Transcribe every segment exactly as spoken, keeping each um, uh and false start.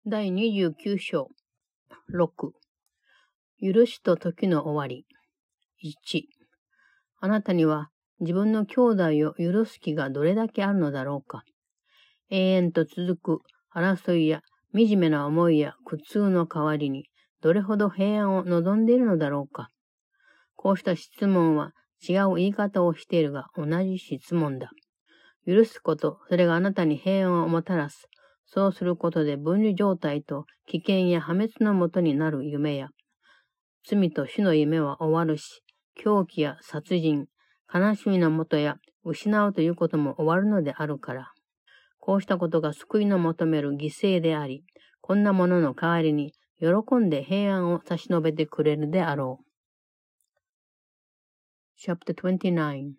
だいにじゅうきゅう章ろく許しと時の終わり。いちあなたには自分の兄弟を許す気がどれだけあるのだろうか。永遠と続く争いや惨めな思いや苦痛の代わりにどれほど平安を望んでいるのだろうか。こうした質問は違う言い方をしているが同じ質問だ。許すこと、それがあなたに平安をもたらす。そうすることで分離状態と危険や破滅のもとになる夢や、罪と死の夢は終わるし、狂気や殺人、悲しみのもとや失うということも終わるのであるから。こうしたことが救いの求める犠牲であり、こんなものの代わりに喜んで平安を差し伸べてくれるであろう。Chapter twenty-nine,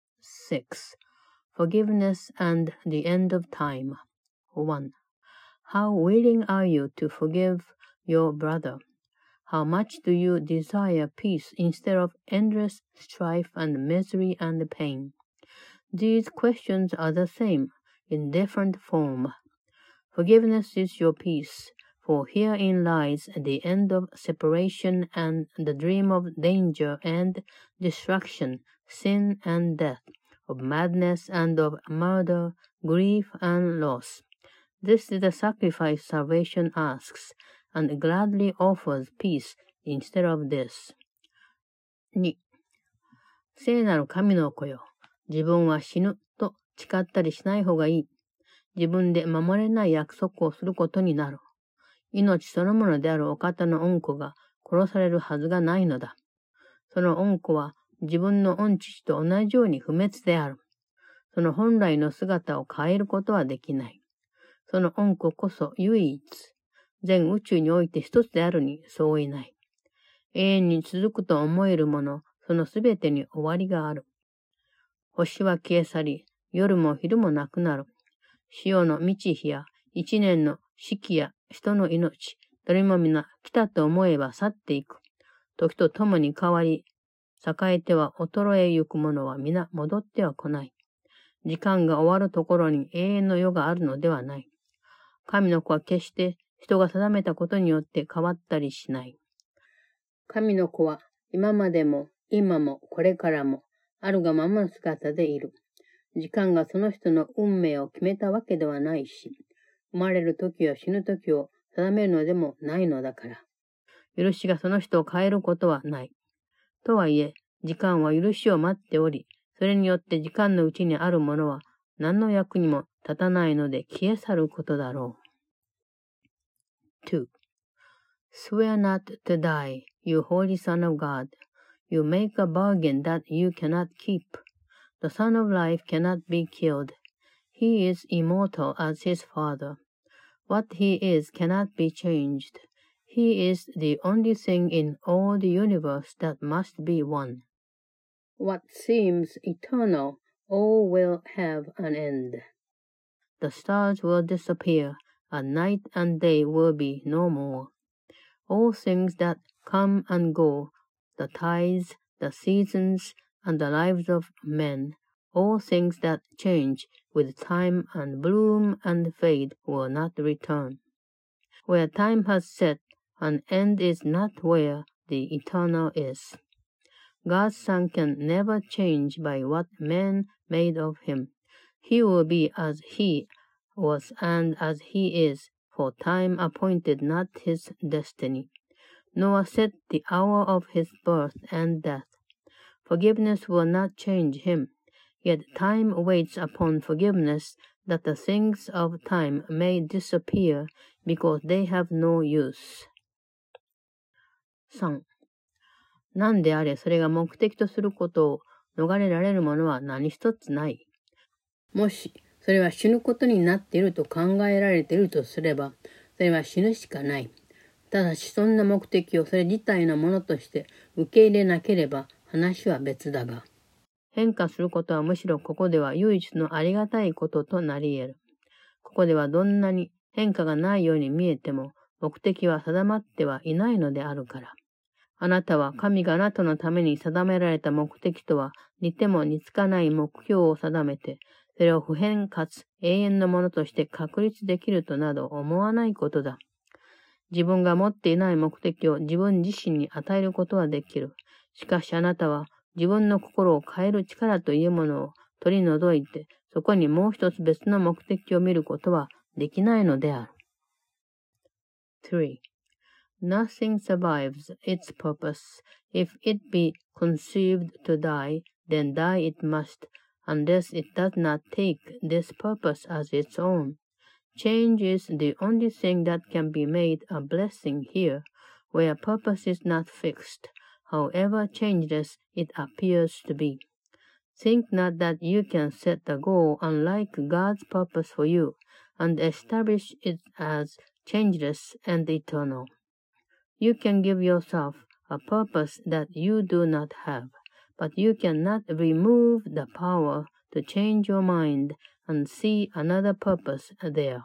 six Forgiveness and the End of Time. one. How willing are you to forgive your brother? How much do you desire peace instead of endless strife and misery and pain? These questions are the same, in different form. Forgiveness is your peace, for herein lies the end of separation and the dream of danger and destruction, sin and death, of madness and of murder, grief and loss. This is the sacrifice salvation asks, and gladly offers peace instead of this. に. 聖なる神の子よ。自分は死ぬと誓ったりしない方がいい。自分で守れない約束をすることになる。命そのものであるお方の恩子が殺されるはずがないのだ。その恩子は自分の恩父と同じように不滅である。その本来の姿を変えることはできない。その恩子こそ唯一、全宇宙において一つであるに相違ない。永遠に続くと思えるもの、そのすべてに終わりがある。星は消え去り、夜も昼もなくなる。潮の満ち日や一年の四季や人の命、どれも皆来たと思えば去っていく。時とともに変わり、栄えては衰えゆくものは皆戻っては来ない。時間が終わるところに永遠の世があるのではない。神の子は決して人が定めたことによって変わったりしない。神の子は今までも今もこれからもあるがままの姿でいる。時間がその人の運命を決めたわけではないし、生まれる時や死ぬ時を定めるのでもないのだから。許しがその人を変えることはない。とはいえ、時間は許しを待っており、それによって時間のうちにあるものは何の役にも立たないので消え去ることだろう。two. Swear not to die, you holy Son of God. You make a bargain that you cannot keep.The Son of Life cannot be killed. He is immortal as his Father. What he is cannot be changed. He is the only thing in all the universe that must be one. What seems eternal, all will have an end. The stars will disappear, and night and day will be no more. All things that come and go, the tides, the seasons,and the lives of men, all things that change with time and bloom and fade will not return. Where time has set, an end is not where the eternal is. God's Son can never change by what men made of him. He will be as he was and as he is, for time appointed not his destiny, nor set the hour of his birth and death.Forgiveness will not change him, yet time waits upon forgiveness that the things of time may disappear because they have no use. さん. 何であれそれが目的とすることを逃れられるものは何一つない。もしそれは死ぬことになっていると考えられているとすれば、それは死ぬしかない。ただしそんな目的をそれ自体のものとして受け入れなければ、話は別だが、変化することはむしろここでは唯一のありがたいこととなり得る。ここではどんなに変化がないように見えても、目的は定まってはいないのであるから。あなたは神があなたのために定められた目的とは似ても似つかない目標を定めて、それを不変かつ永遠のものとして確立できるとなど思わないことだ。 自分が持っていない目的を自分自身に与えることはできる。しかしあなたは自分の心を変える力というものを取り除いて、そこにもう一つ別の目的を見ることはできないのである。three. Nothing survives its purpose. If it be conceived to die, then die it must, unless it does not take this purpose as its own. Change is the only thing that can be made a blessing here, where purpose is not fixed, however changeless it appears to be. Think not that you can set the goal unlike God's purpose for you, and establish it as changeless and eternal. You can give yourself a purpose that you do not have, but you cannot remove the power to change your mind and see another purpose there.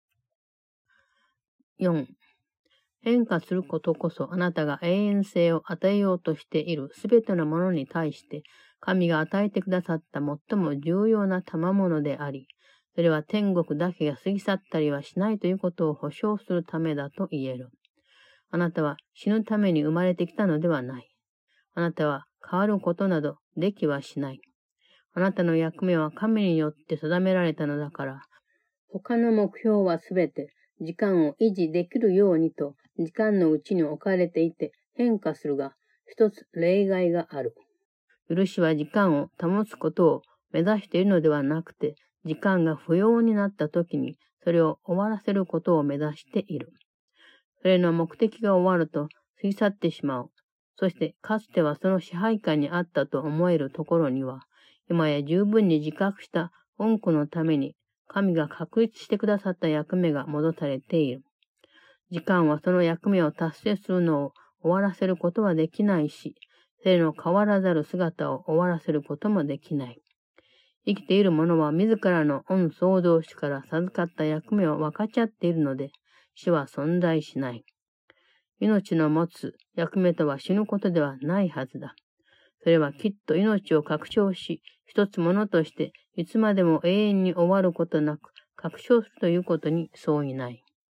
よん. 変化することこそあなたが永遠性を与えようとしているすべてのものに対して神が与えてくださった最も重要な賜物であり、それは天国だけが過ぎ去ったりはしないということを保証するためだと言える。あなたは死ぬために生まれてきたのではない。あなたは変わることなどできはしない。あなたの役目は神によって定められたのだから、他の目標はすべて時間を維持できるようにと時間のうちに置かれていて変化するが、一つ例外がある。許しは時間を保つことを目指しているのではなくて、時間が不要になった時にそれを終わらせることを目指している。それの目的が終わると過ぎ去ってしまう。そしてかつてはその支配下にあったと思えるところには、今や十分に自覚した恩子のために神が確立してくださった役目が戻されている。時間はその役目を達成するのを終わらせることはできないし、それの変わらざる姿を終わらせることもできない。生きている者は自らの恩創造主から授かった役目を分かち合っているので、死は存在しない。命の持つ役目とは死ぬことではないはずだ。それはきっと命を拡張し、一つものとしていつまでも永遠に終わることなく拡張するということに相違ない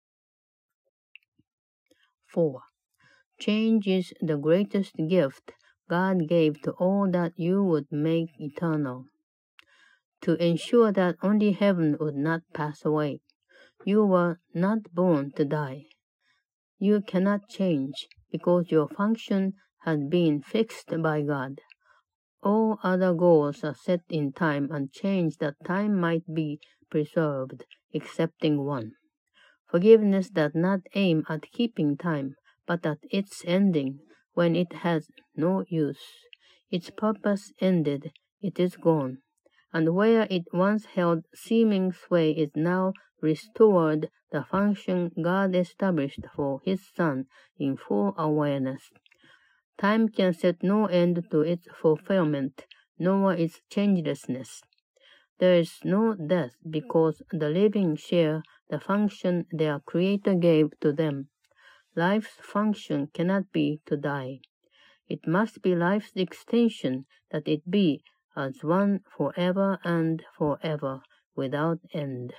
。four. Change is the greatest gift God gave to all that you would make eternal. To ensure that only heaven would not pass away, you were not born to die. You cannot change because your function has been fixed by God. All other goals are set in time and change that time might be preserved, excepting one. Forgiveness does not aim at keeping time, but at its ending when it has no use. Its purpose ended, it is gone. And where it once held seeming sway is now restored the function God established for His Son in full awareness. Time can set no end to its fulfillment, nor its changelessness. There is no death because the living share the function their Creator gave to them. Life's function cannot be to die. It must be life's extension that it be as one forever and forever, without end.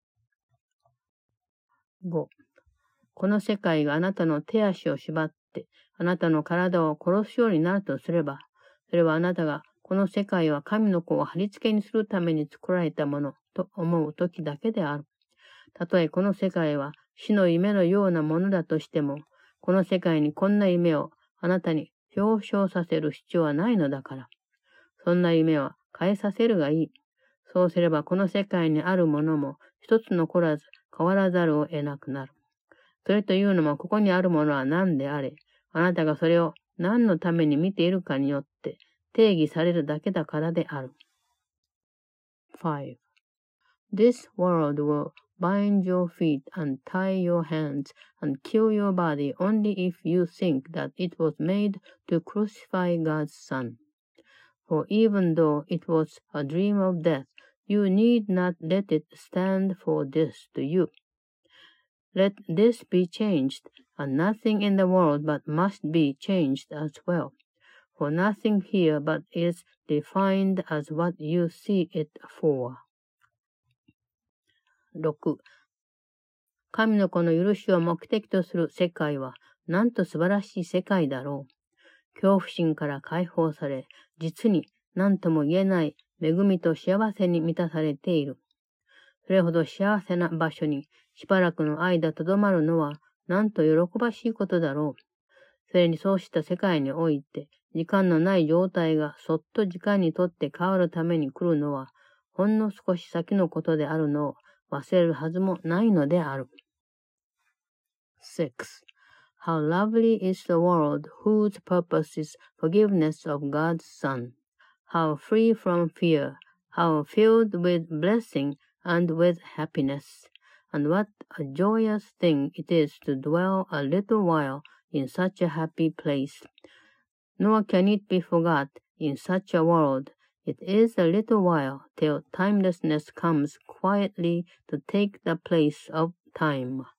ご. この世界があなたの手足を縛って、あなたの体を殺すようになるとすれば、それはあなたがこの世界は神の子を貼り付けにするために作られたものと思う時だけである。たとえこの世界は死の夢のようなものだとしても、この世界にこんな夢をあなたに表彰させる必要はないのだから。そんな夢は変えさせるがいい。そうすればこの世界にあるものも一つ残らず変わらざるを得なくなる。それというのもここにあるものは何であれ、あなたがそれを何のために見ているかによって定義されるだけだからである。five. This world will bind your feet and tie your hands and kill your body only if you think that it was made to crucify God's Son. For even though it was a dream of death, you need not let it stand for this to you. Let this be changed, and nothing in the world but must be changed as well. For nothing here but is defined as what you see it for. ろく. 神の子の許しを目的とする世界は、なんと素晴らしい世界だろう。恐怖心から解放され、実に何とも言えない恵みと幸せに満たされている。それほど幸せな場所にしばらくの間とどまるのは、なんと喜ばしいことだろう。それにそうした世界において、時間のない状態がそっと時間にとって変わるために来るのは、ほんの少し先のことであるのを忘れるはずもないのである。six. How lovely is the world whose purpose is forgiveness of God's Son. How free from fear, how filled with blessing and with happiness. And what a joyous thing it is to dwell a little while in such a happy place. Nor can it be forgot in such a world. It is a little while till timelessness comes quietly to take the place of time.